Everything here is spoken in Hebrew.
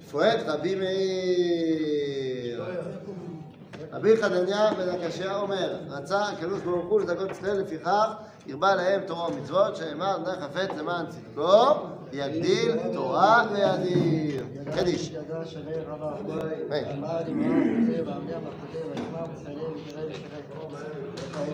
פואט רבי מאיר. רבי חנניה בן הקשיא אומר, רצה הקדוש ברוך הוא לזכות ישראל, לפיכך הרבה להם תורה ומצוות, שאמר נא חפץ למען צדקו, יגדיל תורה וידיר. קדיש.